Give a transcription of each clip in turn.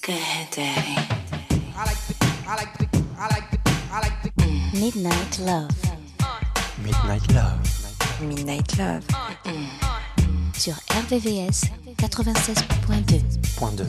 Midnight Love. Midnight Love. Midnight Love. Sur RVVS 96.2.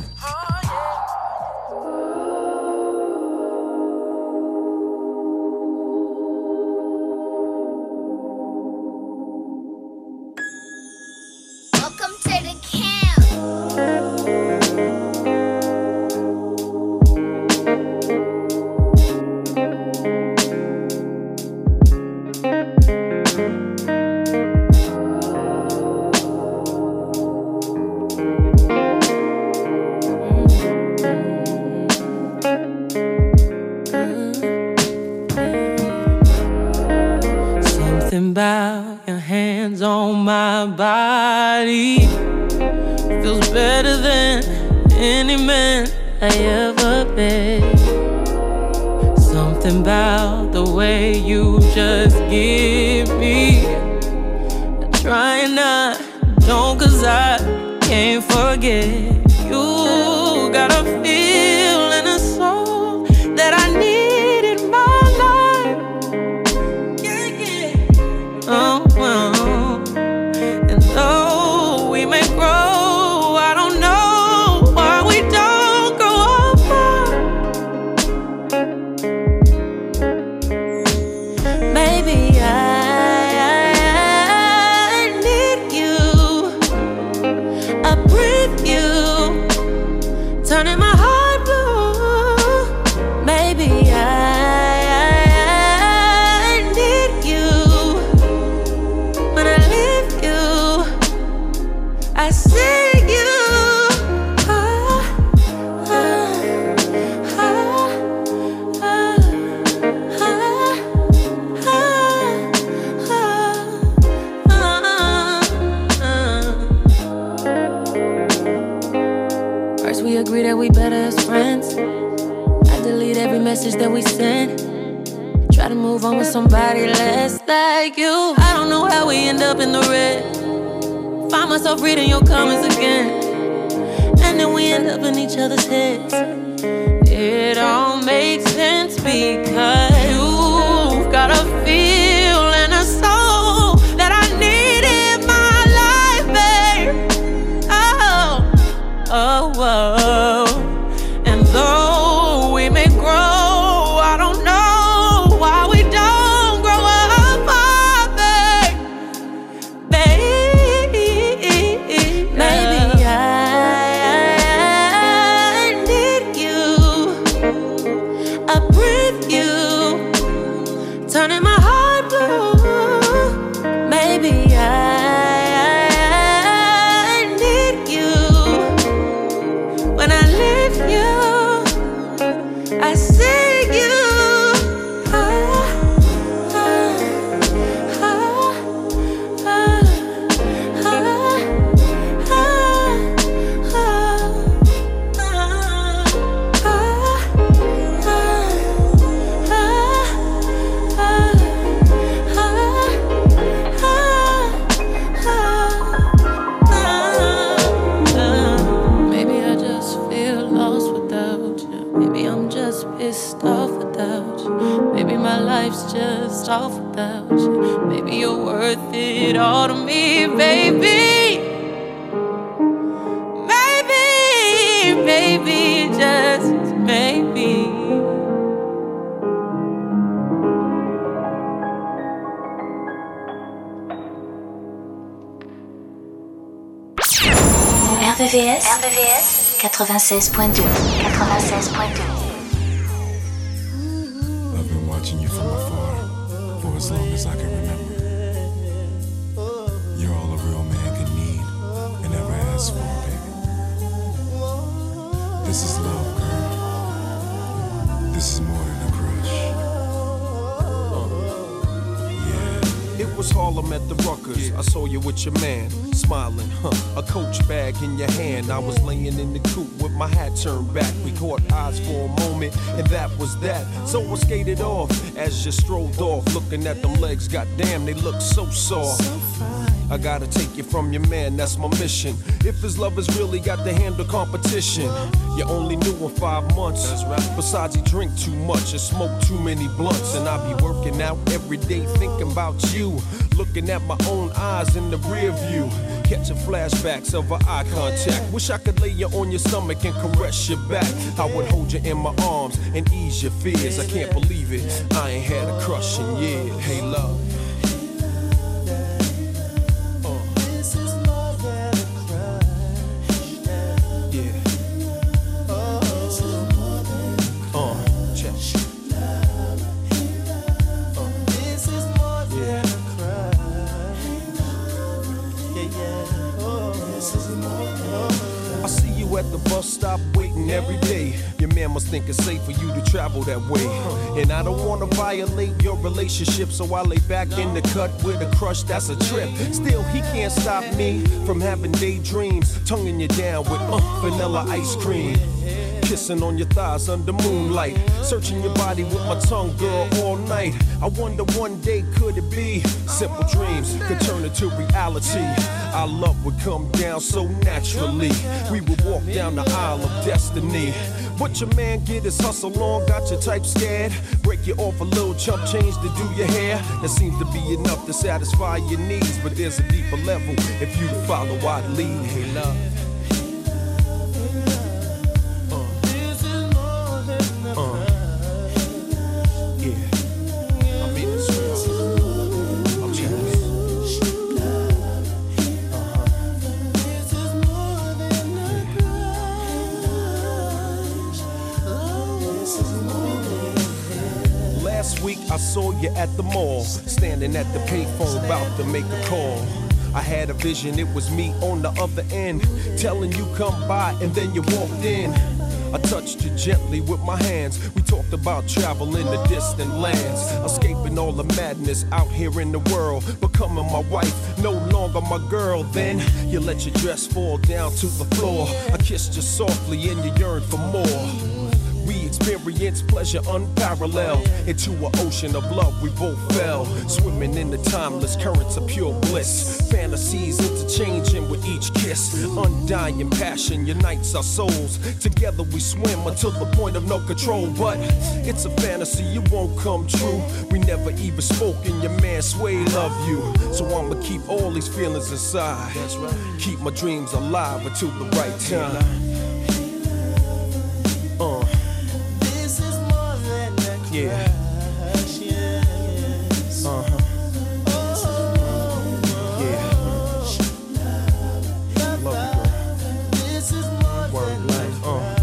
About your hands on my body feels better than any man I ever met. Something about the way you just give me. Trying not, don't, 'cause I can't forget. You got a feel and a soul that I need in my life. Oh, and though we may grow, I don't know why we don't grow apart. Maybe I need you, I breathe you, turning my heart blue. Maybe I need you. When I leave you, I see you. First we agree that we better as friends. I delete every message that we send. Try to move on with somebody less like you. I don't know how we end up in the red. Find myself reading your comments again, and then we end up in each other's heads. It all makes sense because you've got a feel and a soul that I need in my life, babe. Oh, oh. And though we may grow, I don't know why we don't grow apart, babe. Maybe I need you, I breathe you, turning my heart blue. Maybe I need you. When I leave you, I see you. Maybe I just feel lost without you. Maybe I'm just pissed off without you. Maybe my life's just off without you. Maybe you're worth it all to me, baby. Maybe, just maybe. RVVS 96.2. I've been watching you from afar for as long as I can remember. You're all a real man can need and ever ask for, baby. This is love, girl. This is more than a crush. Yeah. It was Harlem at the Ruckers. I saw you with your man, smiling, a coach bag in your hand. I was laying in the coop with my hat turned back. We caught eyes for a moment, and that was that. So I skated off as you strolled off, looking at them legs. Goddamn, they look so soft. I gotta take you from your man, that's my mission. If his love has really got to handle competition, you only knew him 5 months. That's right. Besides, he drink too much and smoke too many blunts. And I be working out every day thinking about you. Looking at my own eyes in the rear view. Catching flashbacks of our eye contact. Wish I could lay you on your stomach and caress your back. I would hold you in my arms and ease your fears. I can't believe it, I ain't had a crush in years. Hey, love. At the bus stop waiting every day. Your man must think it's safe for you to travel that way. And I don't wanna violate your relationship, so I lay back in the cut with a crush that's a trip. Still, he can't stop me from having daydreams, tonguing you down with vanilla ice cream. Kissing on your thighs under moonlight, searching your body with my tongue, girl, all night. I wonder one day could it be simple dreams could turn into reality. Our love would come down so naturally. We would walk down the aisle of destiny. What your man get is hustle on, got your type scared. Break you off a little chump change to do your hair. That seems to be enough to satisfy your needs, but there's a deeper level if you follow I'd lead. Hey, love. I saw you at the mall, standing at the payphone about to make a call. I had a vision, it was me on the other end, telling you come by and then you walked in. I touched you gently with my hands. We talked about traveling to distant lands, escaping all the madness out here in the world, becoming my wife, no longer my girl. Then you let your dress fall down to the floor. I kissed you softly and you yearned for more. We experienced pleasure unparalleled. Into an ocean of love we both fell, swimming in the timeless currents of pure bliss. Fantasies interchanging with each kiss. Undying passion unites our souls. Together we swim until the point of no control. But it's a fantasy, it won't come true. We never even spoke and your man Sway love you. So I'ma keep all these feelings inside. That's right. Keep my dreams alive until the right time. Yeah. Yeah. Love you, girl. This is more word life.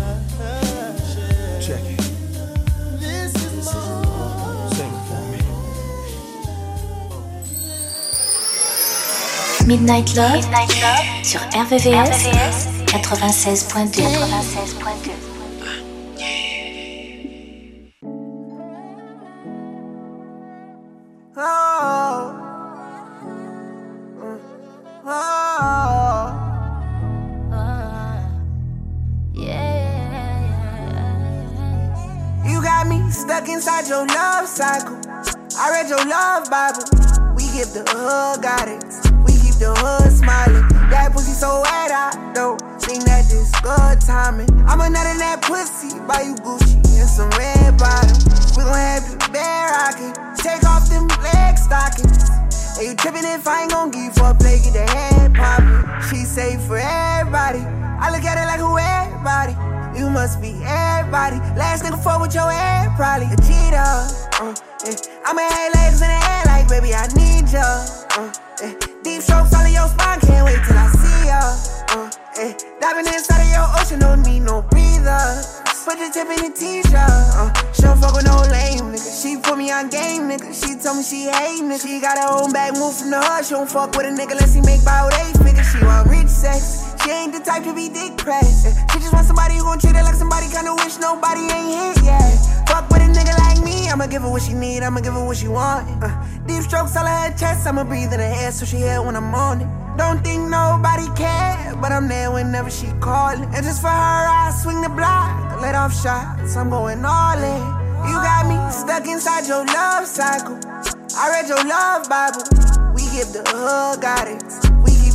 Check it. This is more. Sing it for me. Midnight Love sur RVVS 96.2. Stuck inside your love cycle. I read your love Bible. We give the hood guidance. We keep the hood smiling. That pussy so wet, I don't think that this good timing. I'ma nut in that pussy, buy you Gucci and some red bottoms. We gon' have the bear rockin'. Take off them leg stockings. And you trippin' if I ain't gon' give you for a play, get the head poppin'. She say for everybody. I look at it like who everybody. You must be everybody. Last nigga fuck with your head, probably a cheater. Yeah. I'ma have legs in the air like, baby, I need ya. Yeah. Deep strokes all in your spine, can't wait till I see ya. Yeah. Diving inside of your ocean, don't need no breather. Put the tip in the t-shirt. She don't fuck with no lame nigga. She put me on game, nigga. She told me she hate nigga. She got her own bag, move from the hood. She don't fuck with a nigga unless he make about 8 figures. She want rich sex. She ain't the type to be dick pressed. She just want somebody who gon' treat her like somebody, kinda wish nobody ain't hit yet. Fuck with a nigga like me, I'ma give her what she need, I'ma give her what she want. Deep strokes all of her chest, I'ma breathe in her air so she hear when I'm on it. Don't think nobody care, but I'm there whenever she callin'. And just for her, I swing the block, let off shots, I'm going all in. You got me stuck inside your love cycle. I read your love Bible, we give the hood guidance.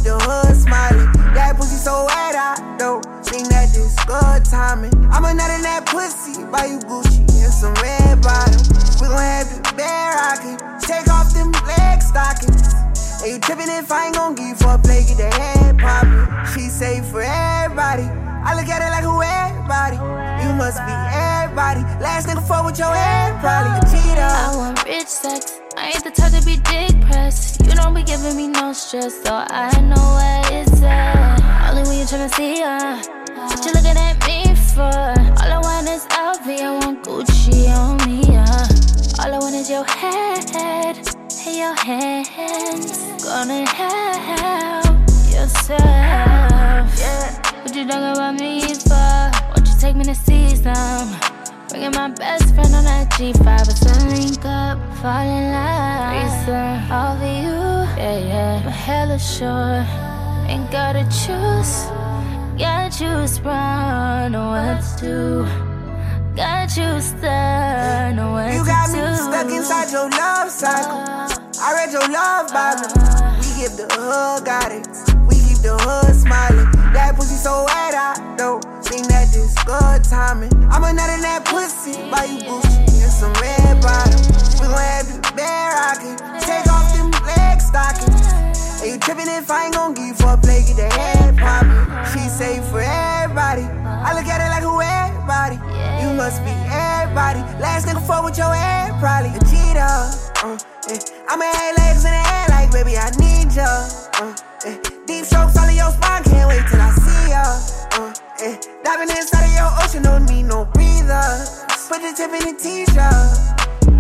the hood smiling. That pussy so wet, I don't think that this good timing. I'm a nut in that pussy, buy you Gucci and some red bottoms. We gon' have the bear rockin', take off them leg stockings. And you trippin' if I ain't gon' give you for a play, get the head poppin'. She say for everybody, I look at it like who everybody. You must be everybody. Last nigga fuck with your head, probably a cheater. I want rich sex, I ain't the type to be dick pressed. You don't be giving me no stress, so I know what it's at. Only when you tryna see her, what you looking at me for? All I want is LV, I want Gucci on me, all I want is your head and your hands. Gonna help yourself. What you talking about me for? Won't you take me to see some? Bringing my best friend on that G5. It's a link up, fall in love. Reason all for you, yeah. I'm hella sure, ain't gotta choose. Got you sprung, know what to do. Got you stuck, know what to do. You got me stuck inside your love cycle. I read your love Bible. We give the hood guidance, we keep the hood smiling. That pussy so wet, I don't think that this good timing. I'm a nut in that pussy, buy you Gucci and some red bottoms. We gon' have the bear rockin', take off them leg stockings. And you trippin' if I ain't gon' give you for a play, get the head poppin'. She say for everybody, I look at it like who everybody. You must be everybody. Last nigga fuck with your head, probably a cheater. I'ma have legs in the air like baby I need ya. Deep strokes all in your spine, can't wait till I see ya. Diving inside of your ocean, don't need no breather. Put the tip in the t-shirt.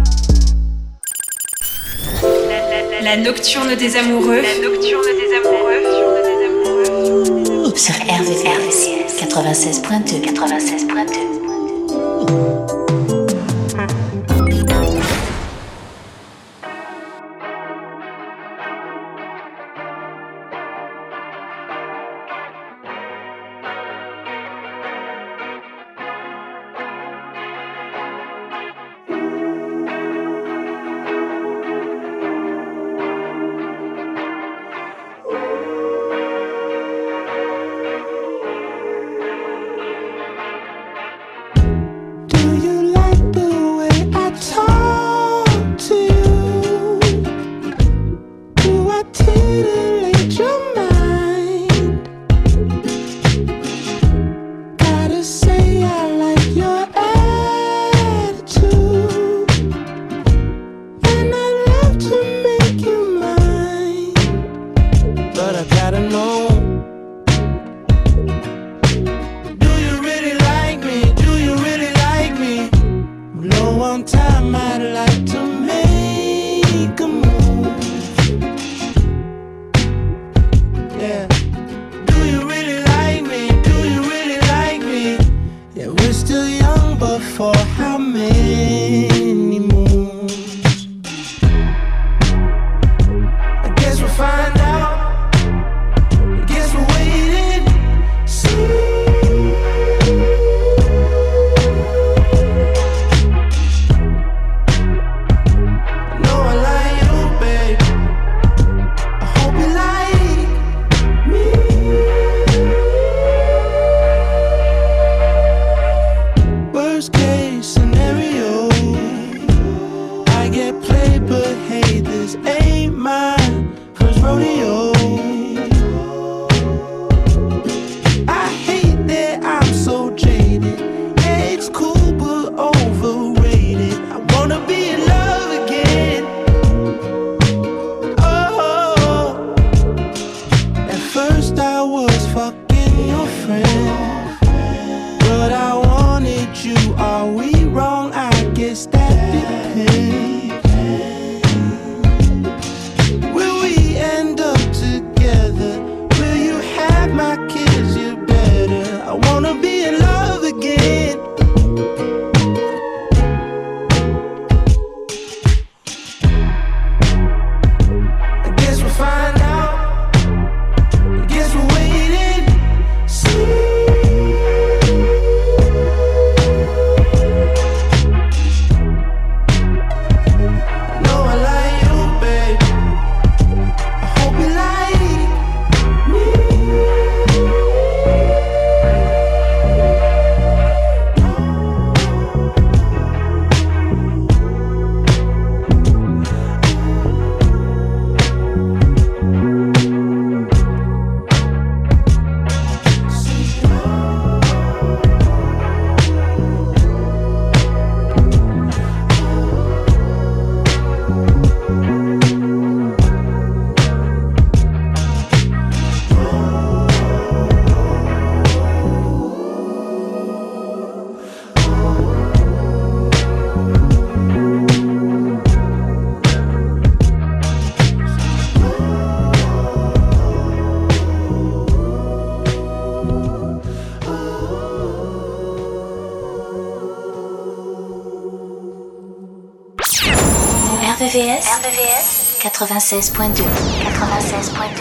La nocturne des amoureux. La nocturne des amoureux. Sur RVVS 96.2. 96.2. Do RVVS 96.2. 96.2.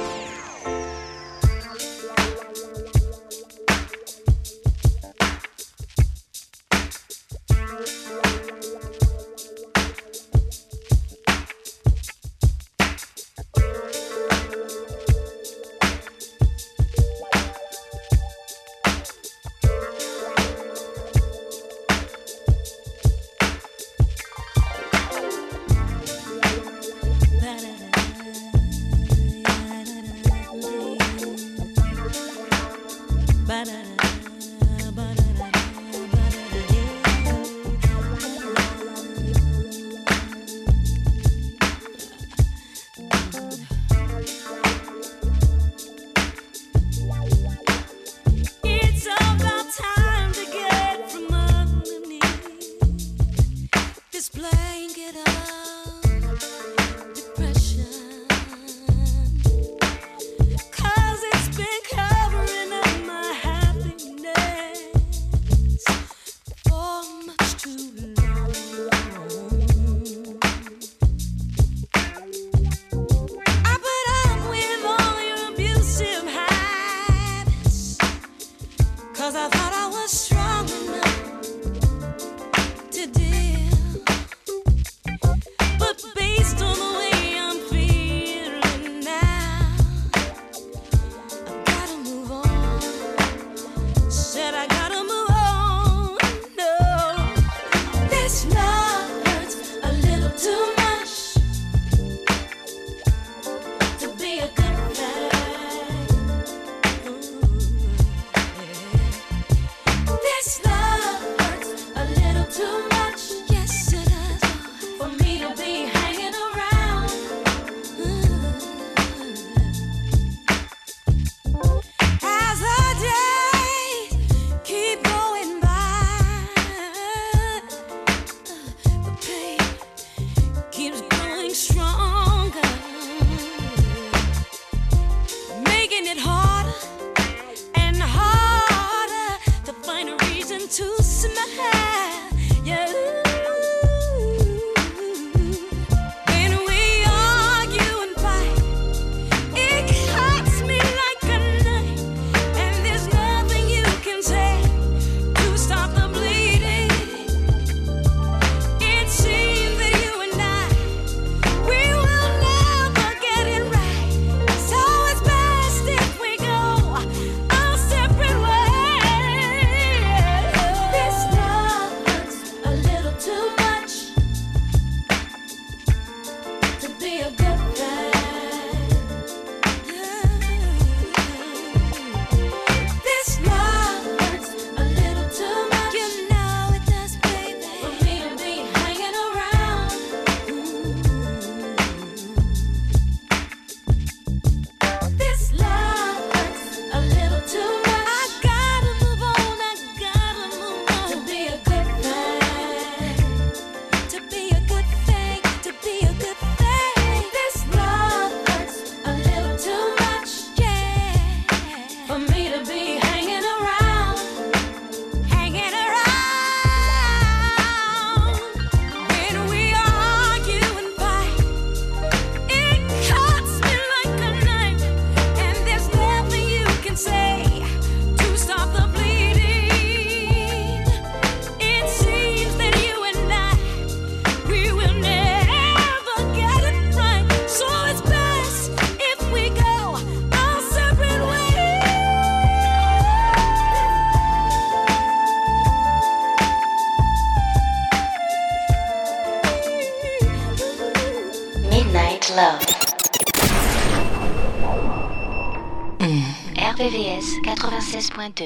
RVVS 96.2.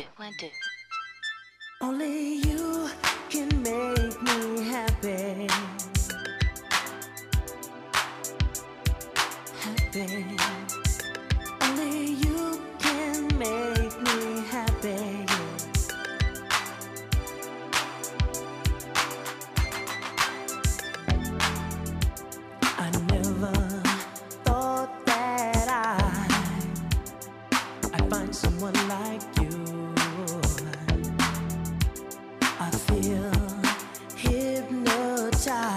Only you can make me happy. Happy. Only you can make me happy. I never thought that I'd find someone like you. I feel hypnotized.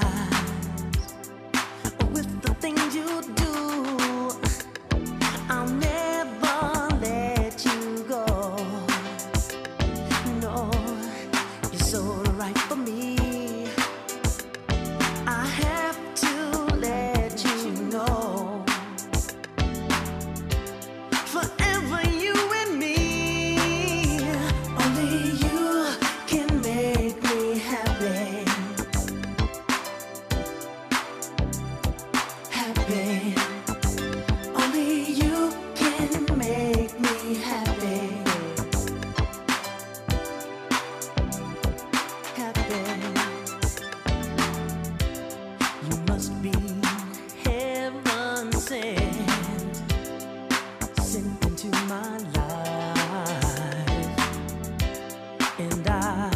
And I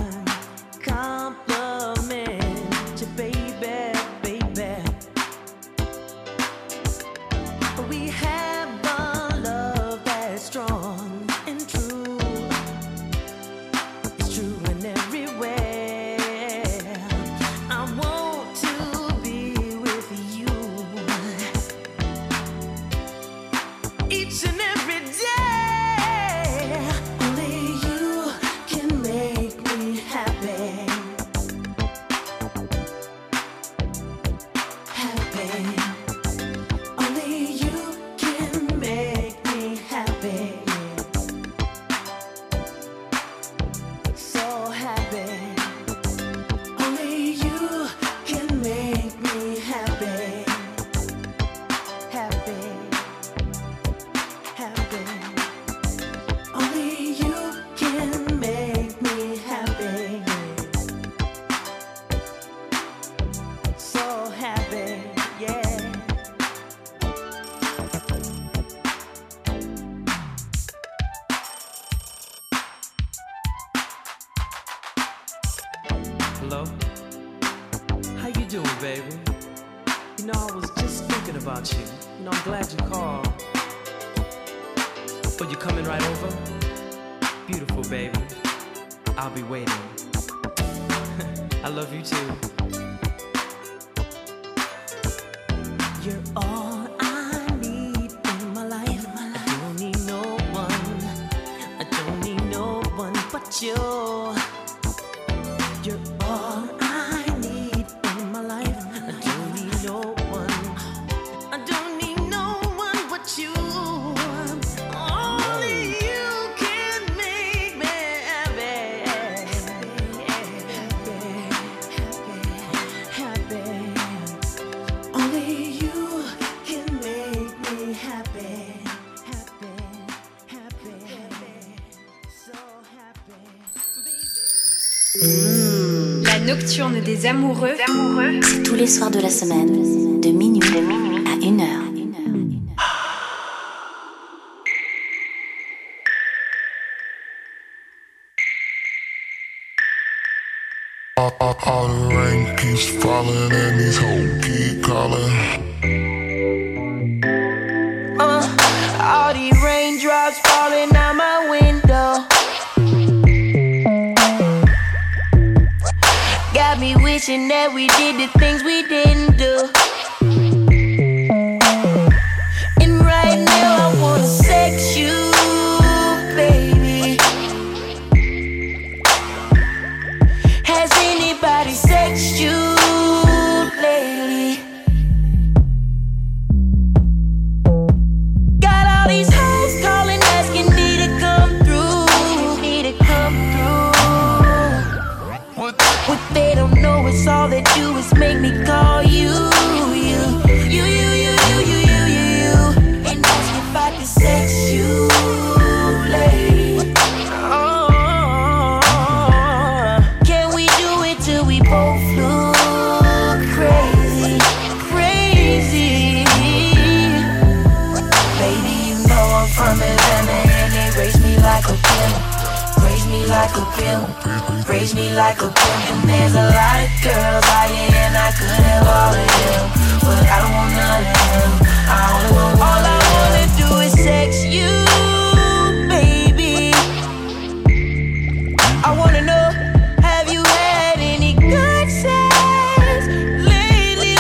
compliment you, baby, baby. We have a love that's strong and true. It's true in everywhere. I want to be with you each and every day. Only you can make me happy. Happy. Only you can make me happy. So happy. Only you can make me happy. Happy. Happy. Only you can make me happy. So happy, yeah. Hello? How you doing, baby? You know, I was just thinking about you. You know, I'm glad you called. Oh, you coming right over? Beautiful, baby. I'll be waiting. I love you too. You're all I need in my life. I don't need no one. I don't need no one but you. You're all I need in my life. I don't need no one. I don't need no one but you. Only you can make me happy. Happy. Only you can make me happy. Happy. So happy. La nocturne des amoureux. C'est tous les soirs de la semaine, de minuit à 1h. All the rain keeps falling and these hoes keep calling. All these raindrops falling out my window got me wishing that we did the things we didn't do. And right now I wanna sex you, baby. Has anybody sexed you lately? Got all these hoes calling, asking me to come through. What they don't know is all they do is make me call you. And ask if I can sex you lately. Can we do it till we both look crazy? Baby, you know I'm from Atlanta and they raise me like a pimp. Raise me like a pimp. Raise me like a pimp. And there's a lot of girls out here and I could have all of them, but I don't want none of them. I only want one. All I wanna do is sex you, baby. I wanna know, have you had any good sex lately?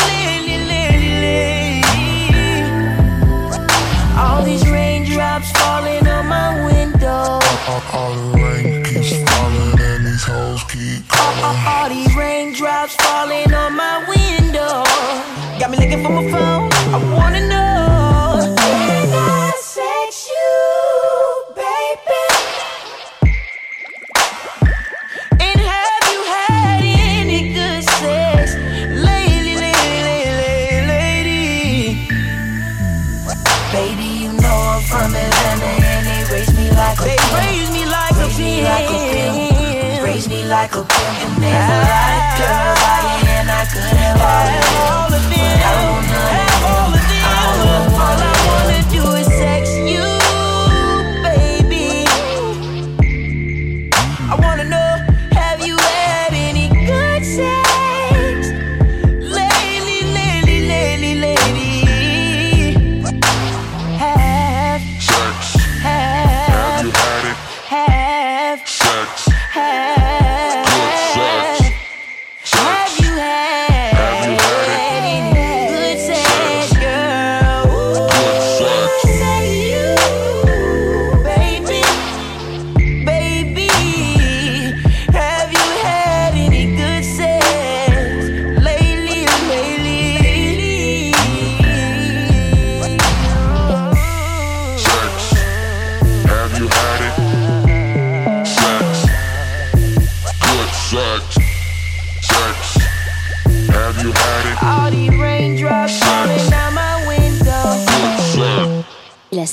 All these raindrops falling on my window. All the rain keeps falling and these hoes keep calling. All these raindrops falling on my window got me looking for my phone. I wanna know, can I sex you, baby? And have you had any good sex lately? Baby, you know I'm from Atlanta and they raise me like a pimp. Raise me like a pimp. Raise me like a pimp. And there's a lot of girls out here and I could have all of them, but I don't want none of them. All I wanna do is sex you, baby. I wanna know,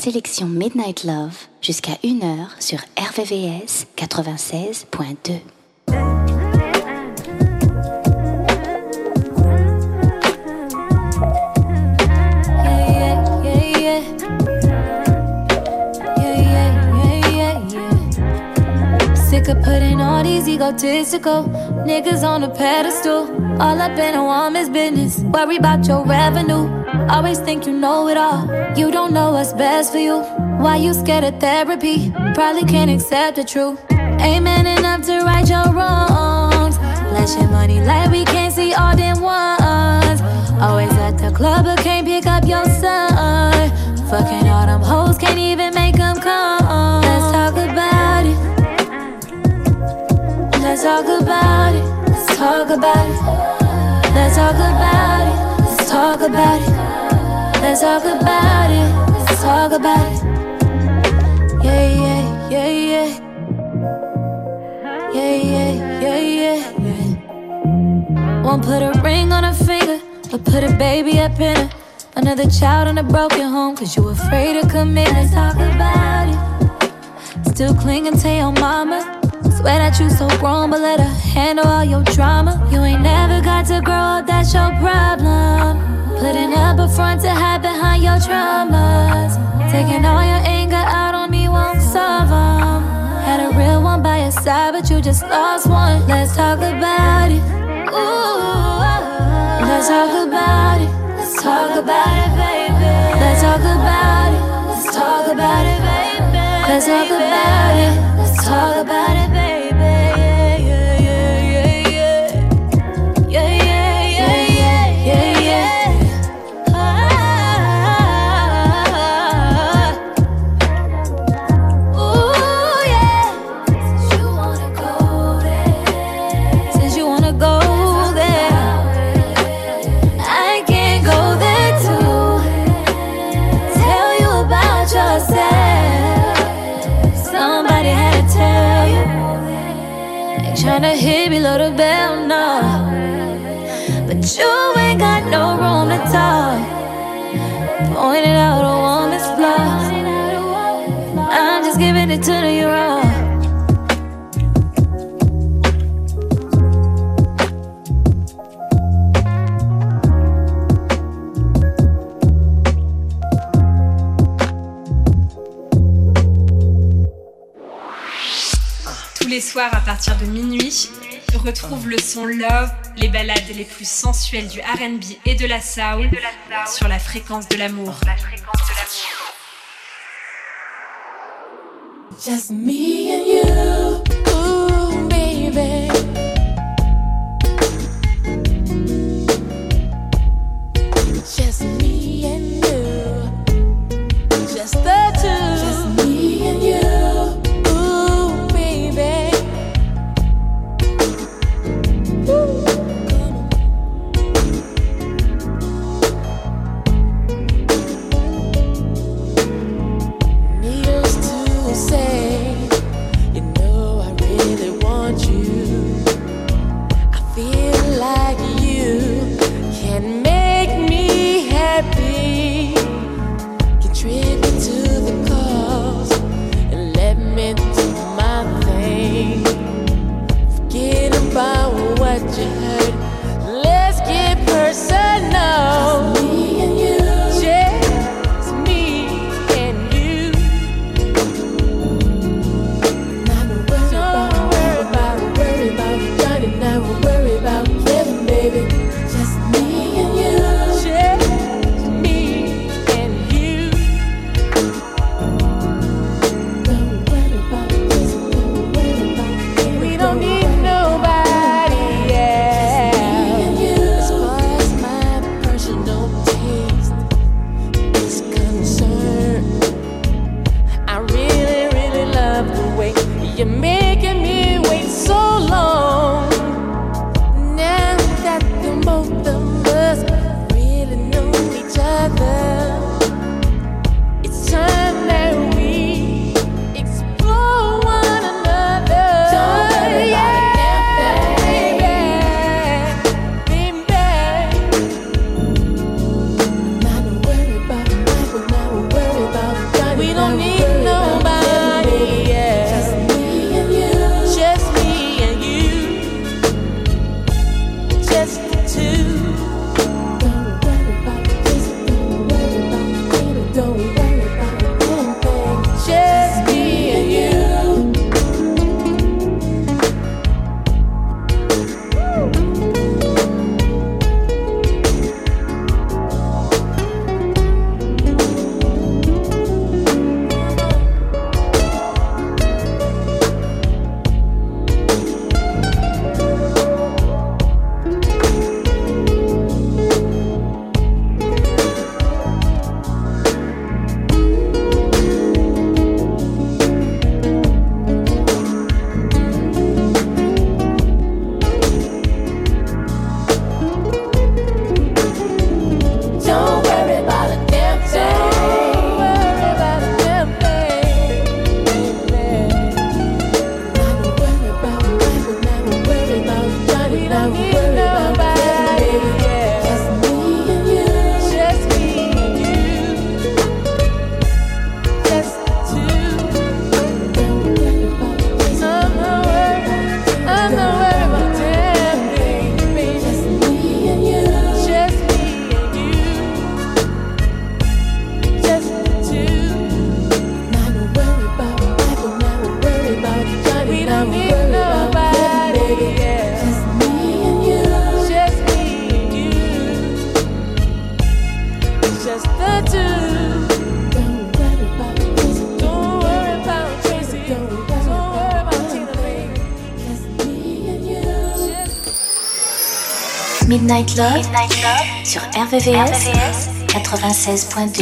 sélection Midnight Love jusqu'à 1h sur RVVS 96.2. Sick of putting all these egotistical niggas on a pedestal. All up in a woman's business. Worry about your revenue. Always think you know it all. You don't know what's best for you. Why you scared of therapy? Probably can't accept the truth. Ain't man enough to right your wrongs. Flash your money like we can't see all them ones. Always at the club but can't pick up your son. Fucking all them hoes, can't even make them come. Let's talk about it. Let's talk about it. Let's talk about it. Let's talk about it. Let's talk about it. Let's talk about it. Let's talk about it. Yeah, yeah, yeah, yeah. Yeah, yeah, yeah, yeah, yeah. Won't put a ring on her finger, but put a baby up in her. Another child in a broken home, cause you afraid to commit. Let's talk about it. Still clinging to your mama. Swear that you so grown, but let her handle all your drama. You ain't never got to grow up, that's your problem. Putting up a front to hide behind your traumas. Taking all your anger out on me won't solve them. Had a real one by your side, but you just lost one. Let's talk about it. Ooh, let's talk about it. Let's talk about it, baby. Let's talk about it. Let's talk about it, baby. Let's talk about it. Let's talk about it, baby. Tryna hit below the bell, no. But you ain't got no room to talk. Pointing out a woman's flaws. I'm just giving it to you raw. Les soirs à partir de minuit, retrouve le son Love, les ballades les plus sensuelles du R&B et de la soul sur la fréquence de l'amour. Just me and you, ooh baby. Just me and you, just the two. Just me and you. We Midnight Love sur RVVS 96.2.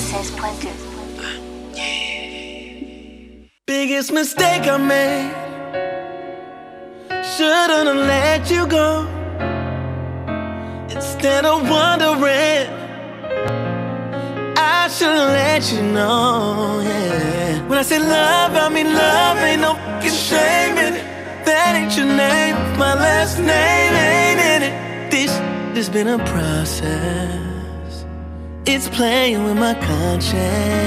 Biggest mistake I made. Shouldn't have let you go. Instead of wondering, I should've let you know, yeah. When I say love, I mean love, ain't no fucking shame in it. That ain't your name, my last name ain't in it. This been a process. It's playing with my conscience.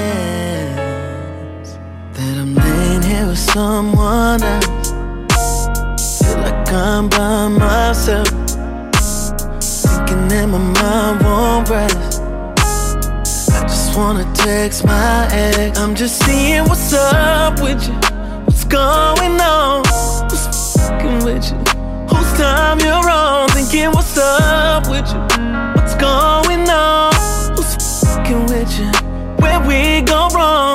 That I'm laying here with someone else. Feel like I'm by myself. Thinking that my mind won't rest. I just wanna text my ex. I'm just seeing what's up with you. What's going on? Who's fucking with you? Whose time you're on? Thinking what's up with you? What's going on? Who's fucking with you? Where we go wrong?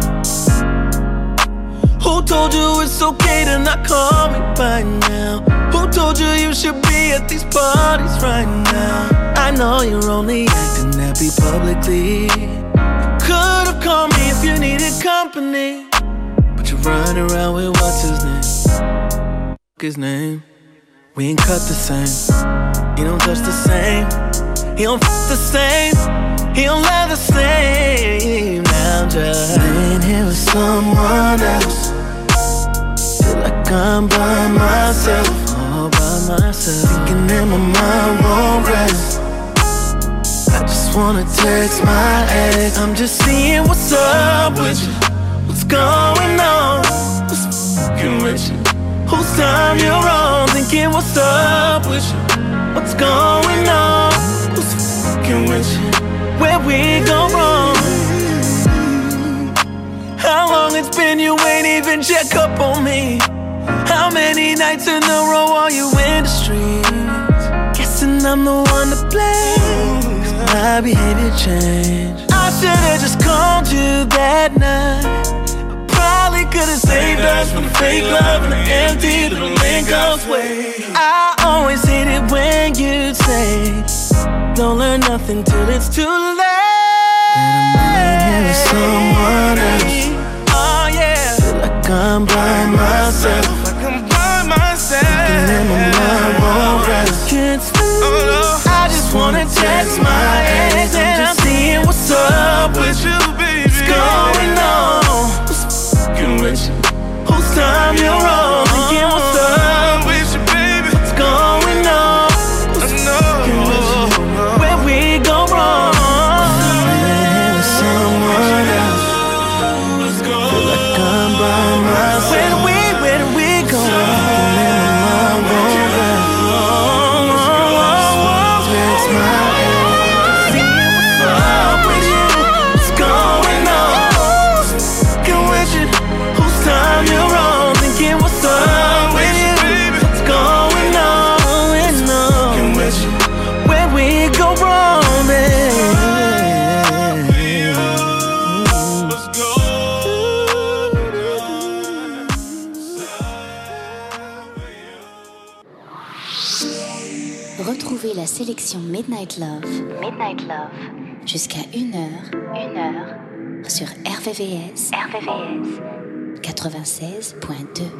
Who told you it's okay to not call me by now? Who told you you should be at these parties right now? I know you're only acting happy publicly. You could've called me if you needed company, but you're running around with what's his name? His name. We ain't cut the same. He don't touch the same. He don't f the same. He don't love the same. Now I'm just laying here with someone else. Feel like I'm by myself, all by myself. Thinking that my mind won't rest. I just wanna text my ex. I'm just seeing what's up with you. What's going on? What's fucking with you? Whose time you're on? Thinking what's up with you? What's going on? Who's fucking with you? Where we go wrong? How long it's been you ain't even check up on me? How many nights in a row are you in the streets? Guessing I'm the one to blame, 'cause my behavior changed. I should've just called you that night. Probably could've saved us from the fake love and the empty little Lincoln's way. I always hate it when you say don't learn nothing till it's too late. That I'm laying here with someone else. Oh yeah. Feel like I'm by myself. Like I'm by myself. Thinking that my mind won't rest. Can't sleep. Oh, no. I just wanna text my ex. And I'm seeing what's up with you, baby. What's going on? With you. Whose time you're on? Thinking what's up with you, baby? What's going on? Who's fucking with you? Where we go wrong? With someone else. Feel like I'm by myself. Where do we go? Thinking that my mind won't rest. Text my ex. Seeing what's up with you. What's going on? Fucking with you. Time you're on, thinking what's up with you? What's going on? And with you, where we go wrong, baby. Retrouvez la sélection Midnight Love jusqu'à 1h sur RVVS 96.2.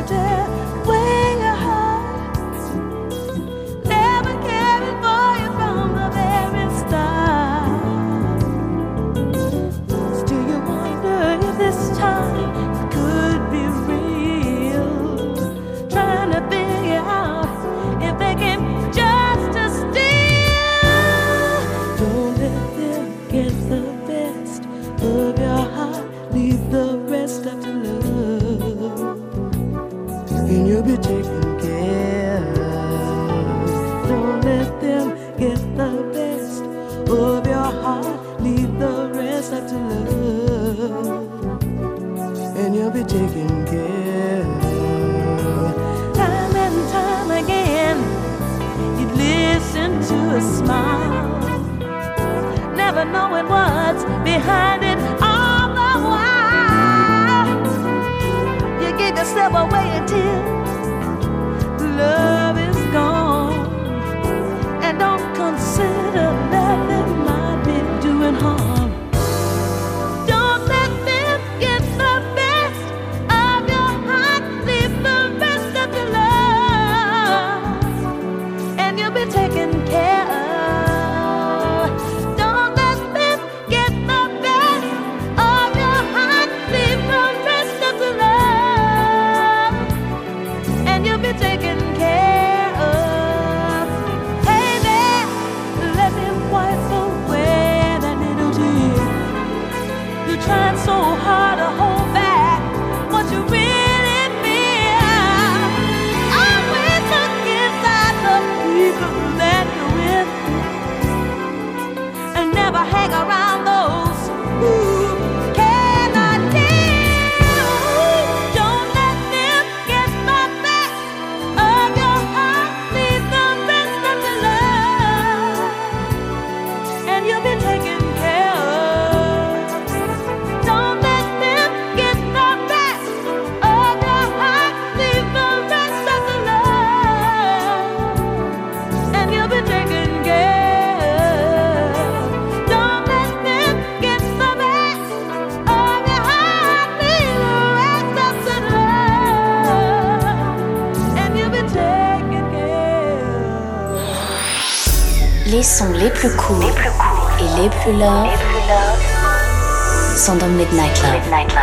tear away your heart. Never caring for you from the very start. Still you wonder if this time it could be real. Trying to figure out if they can just steal. Don't let them get the best of your heart. Leave the rest up to love, and you'll be taken care of. Don't let them get the best of your heart. Leave the rest up to love, and you'll be taken care of. Time and time again, you'd listen to a smile, never knowing what's behind it all the while. You give yourself away until love is gone, and don't consider nothing might be doing harm. Don't let them get the best of your heart. Leave the rest of your love, and you'll be taken care of. Don't let them get the best of your heart. Leave the rest of the love, and you'll be taken care of. Hey there, let me wipe away that little tear. You're trying so hard to hold back what you really feel. Always look inside the people that you're with, and never hang around those who cannot deal. Don't let them get the best of your heart. Leave the rest of the love, and you'll be taken care of. Don't let them get the best of your heart. Leave the rest of the love, and you'll be taken care of. Don't let them get the best of your heart. Leave the rest of the love, and you'll be taken care of. Les sons les plus cool et les plus love sont dans Midnight Love.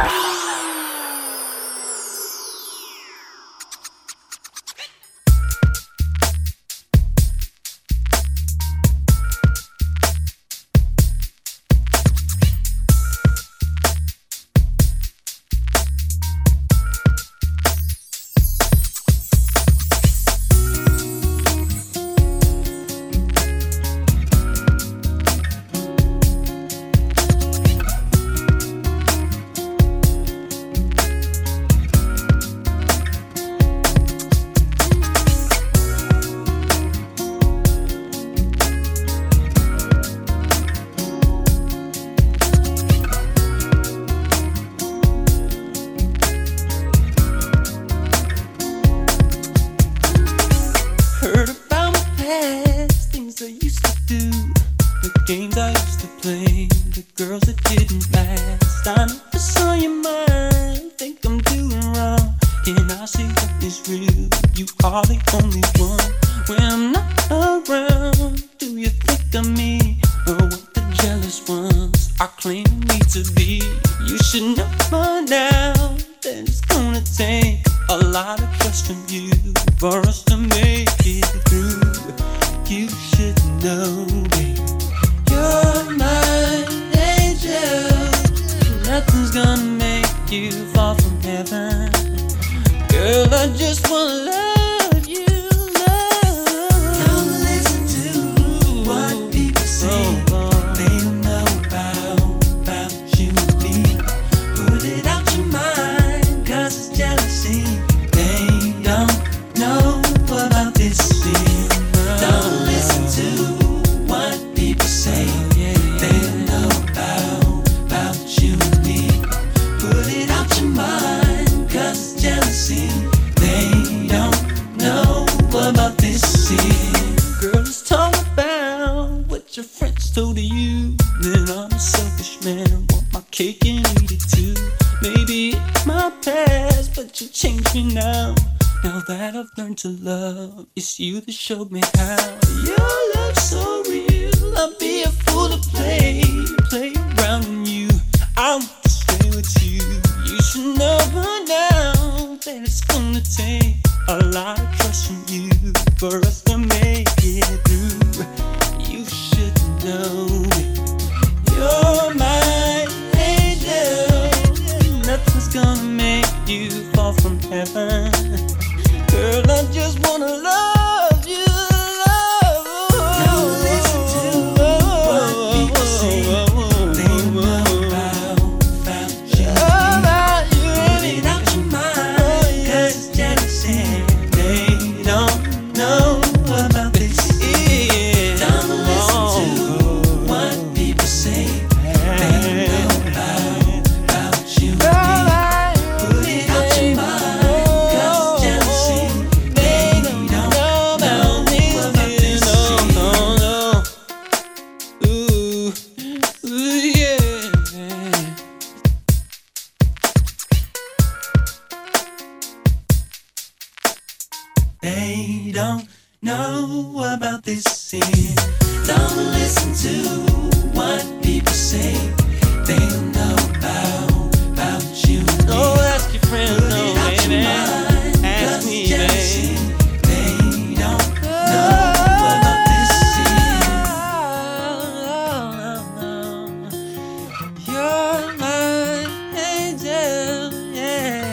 Heard about my past, things I used to do, the games I used to play, the girls that didn't last. I never saw your mind, think I'm doing wrong, and I see what is real. You are the only one. When I'm not around, do you think of me, or what the jealous ones are claiming me to be? You should know by now that it's gonna take a lot of trust from you for us to make it through. You should know, babe, you're my angel. Nothing's gonna make you fall from heaven. Girl, I just wanna love you, love. Don't listen to what people say. They don't know about you and me. Put it out your mind, 'cause it's jealousy. They don't know about this thing. Don't listen to what people say. They don't know about you and me. Put it out your mind, 'cause it's jealousy. They don't Now that I've learned to love, it's you that showed me how. Your love's so real, I'd be a fool to play around with you. I want to stay with you. You should know by now that it's gonna take a lot of trust from you for us to make it through. You should know you're my angel. Nothing's gonna make you fall from heaven. Girl, I just wanna love you. Now listen to what people say. They know about you. Put it out your mind, 'cause it's jealousy. They don't know about this. Don't listen to what people say. They know about you. Put it out your mind, 'cause it's jealousy. They don't know about this. Ooh, yeah. They don't know about this sin. Don't listen to what people say. They don't know about you. Oh, ask your friends, no, baby. Ask me, baby. They don't know about this sin. You're my angel, yeah.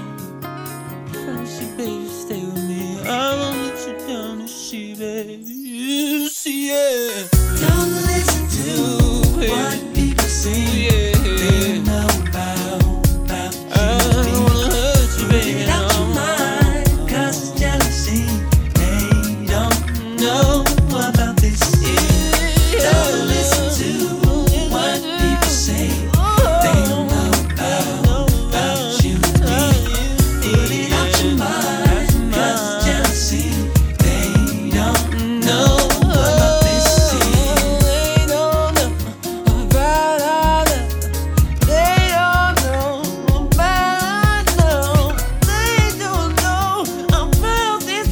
She, baby, stay with me. I won't let you down to see, baby. You see, yeah. Don't listen to what people say. Yeah. They know about you. I don't wanna hurt you, baby. Put it out your mind, 'cause it's jealousy. They don't know about this. Don't listen to what people say. They don't know about you. Put it out your mind, 'cause it's jealousy. They don't know about this. They don't know about all that. They don't know about love. They don't know about this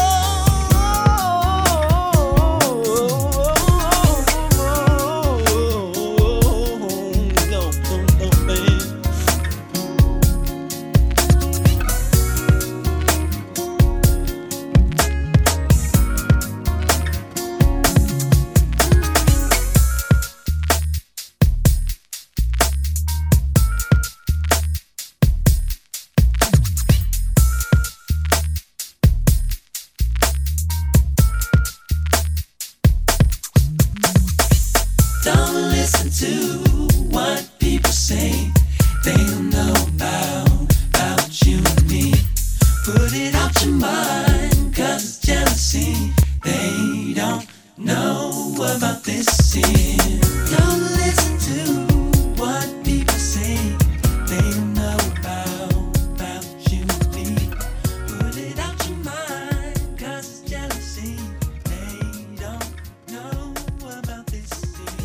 Don't listen to what people say. They don't know about you and me. Put it out your mind, 'cause it's jealousy. They don't know about this sin. Don't listen to what people say. They don't know about you and me. Put it out your mind, 'cause it's jealousy. They don't know about this sin.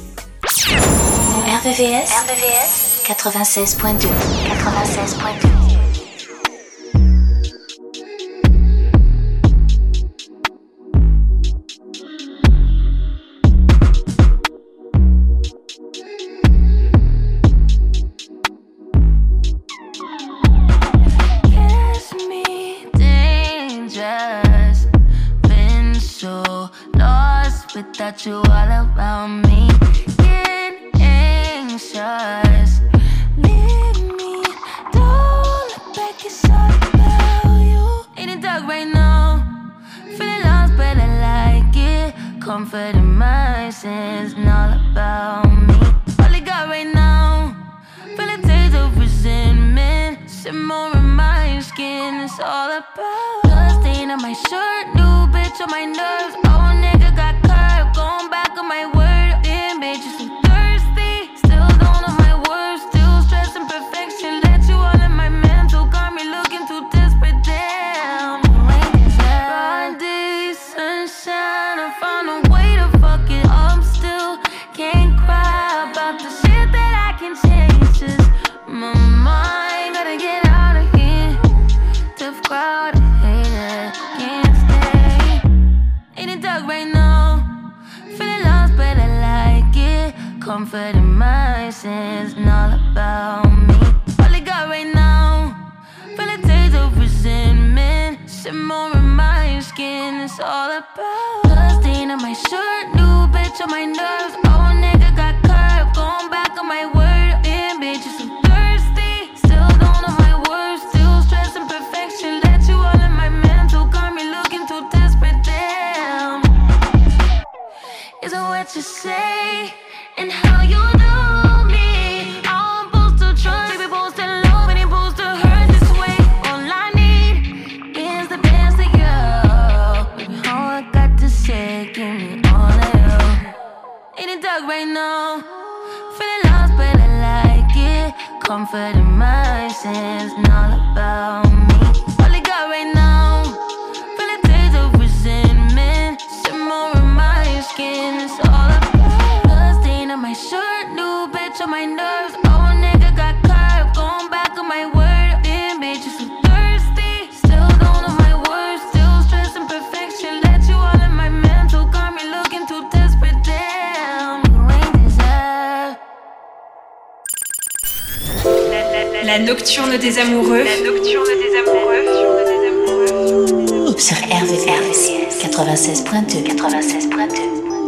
RVVS 96.2. 96.2. Kiss me dangerous. Been so lost without you all around me. Get anxious. Leave me. Don't look back, it's all about you. In the dark right now. Feeling lost, but I like it. Comfort in my sins and all about me. All I got right now. Feel a taste of resentment. Simmer in my skin, it's all about blood stain on my shirt, new bitch on my nerves. Old nigga got curved, going back on my word. Damn bitch, you so thirsty. Still don't know my words, still stressing perfection. Let you all in my mental, got me looking too desperate. Damn, broad day, sunshine, I found a way to fuck it up. Still can't cry about the shit that I can change. Just my mind, gotta get out of here. Tough crowd, hey. comfort in my sins, and all about me. All I got right now, feel a taste of resentment, simmer in my skin. It's all about blood stain on my shirt, new bitch on my nerves. Oh nigga got curved, going back on my word. Damn bitch, you so thirsty, still don't know my words, still stressing perfection. Let you all in my mental, got me looking too desperate. Damn, is it what you say and how you know me? I'm supposed to trust, we supposed to love, and it's supposed to hurt this way. All I need is the best of you. Baby, all I got to say, give me all of you. In the dark right now, feeling lost, but I like it. Comfort in my sins, and all about me. All I got right now, feel a taste of resentment, simmer in my skin. It's all about blood stain on my shirt, new bitch on my nerves. Oh nigga got curved, going back on my word. Damn bitch, you so thirsty, still don't know my words, still stressing perfection. Let you all in my mental, got me looking too desperate. Damn, you ain't deserve. La nocturne des amoureux. La nocturne des amoureux. Sur RVVS 96.2. 96.2.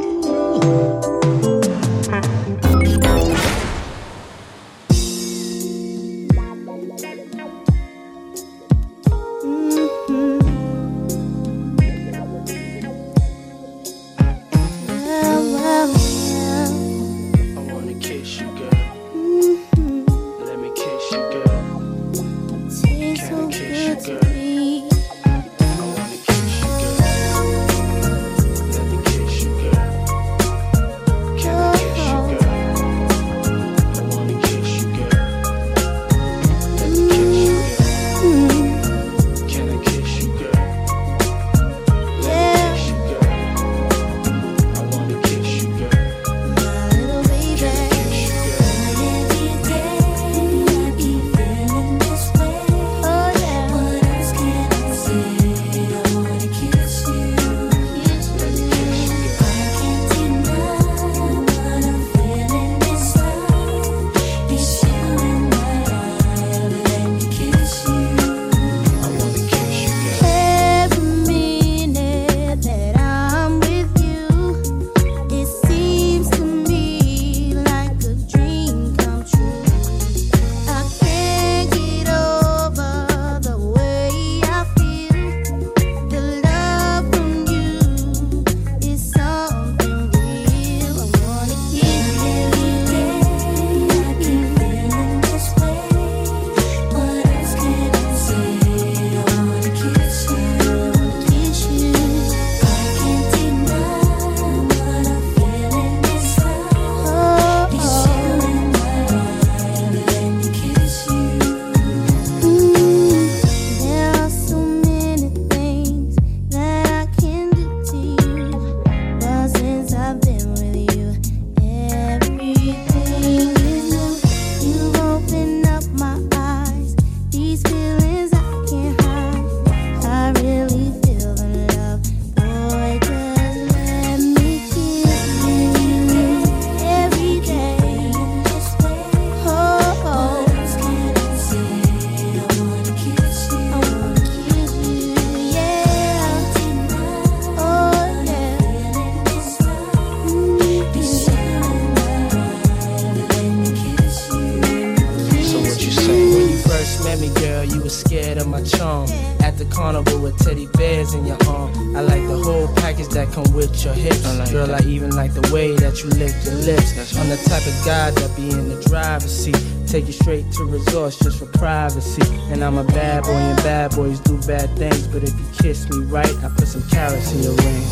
Your hips, girl, I even like the way that you lick your lips. I'm the type of guy that be in the driver's seat, take you straight to resorts just for privacy. And I'm a bad boy, and bad boys do bad things, but if you kiss me right, I put some carrots in your ring.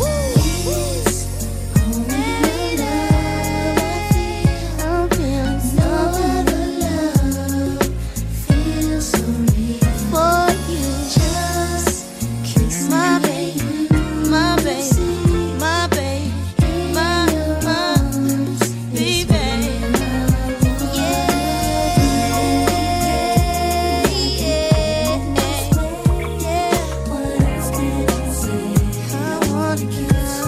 I wanna kiss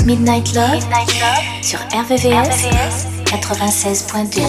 Midnight Love sur RVVS 96.2.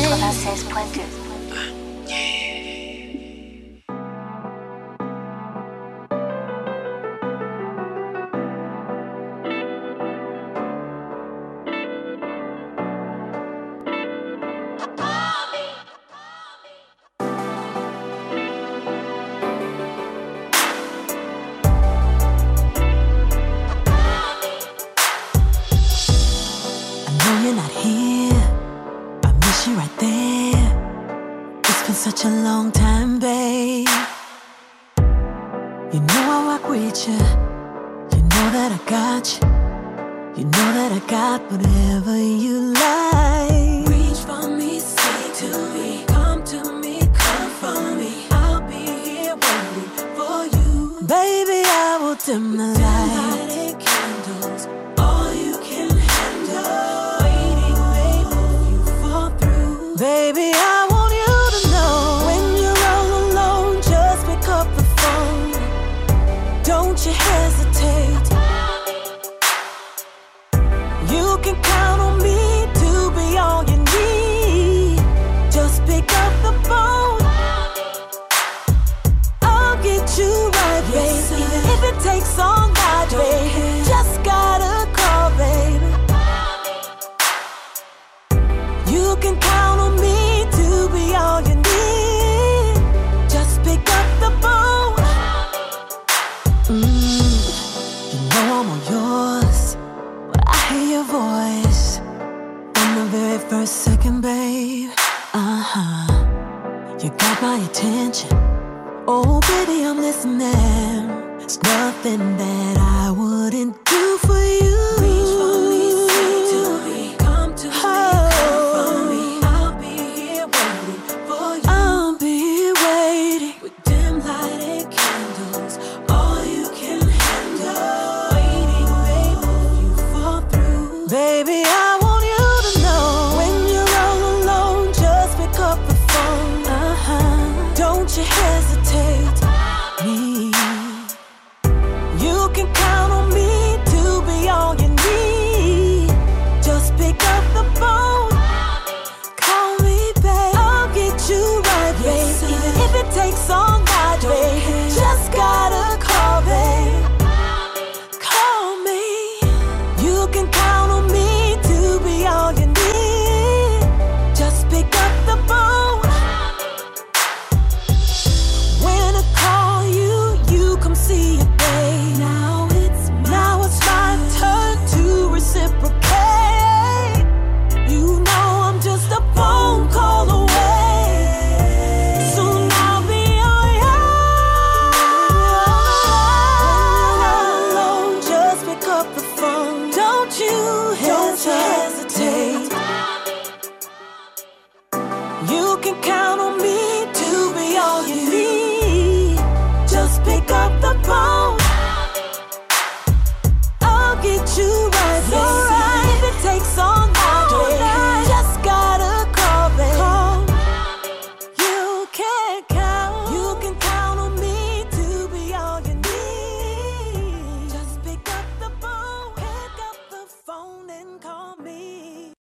Such a long time, babe. You know I rock with you. You know that I got you. You know that I got whatever you like. Reach for me, say to me, come to me, come for me. I'll be here waiting for you. Baby, I will dim the light. Candles, all you can handle. Waiting, babe, if you fall through. Baby, I want you to know when you're all alone, just pick up the phone. Don't you hesitate. You can count on me to be all you need. Just pick up the phone. I'll get you right, baby. Even if it takes all night, baby. Just gotta call, baby. You can count on me to be all you need. Just pick up the phone. You know I'm all yours. When I hear your voice from the very first second, babe. You got my attention. Oh, baby, I'm listening. There's nothing that I wouldn't do for you. Reach for me, say to me, come to me, come for me. I'll be here waiting for you. I'll be here waiting with dim lighted candles. All you can handle. Waiting, babe, if you fall through. Baby, I want you to know when you're all alone, just pick up the phone. Don't you hesitate. Me, you can count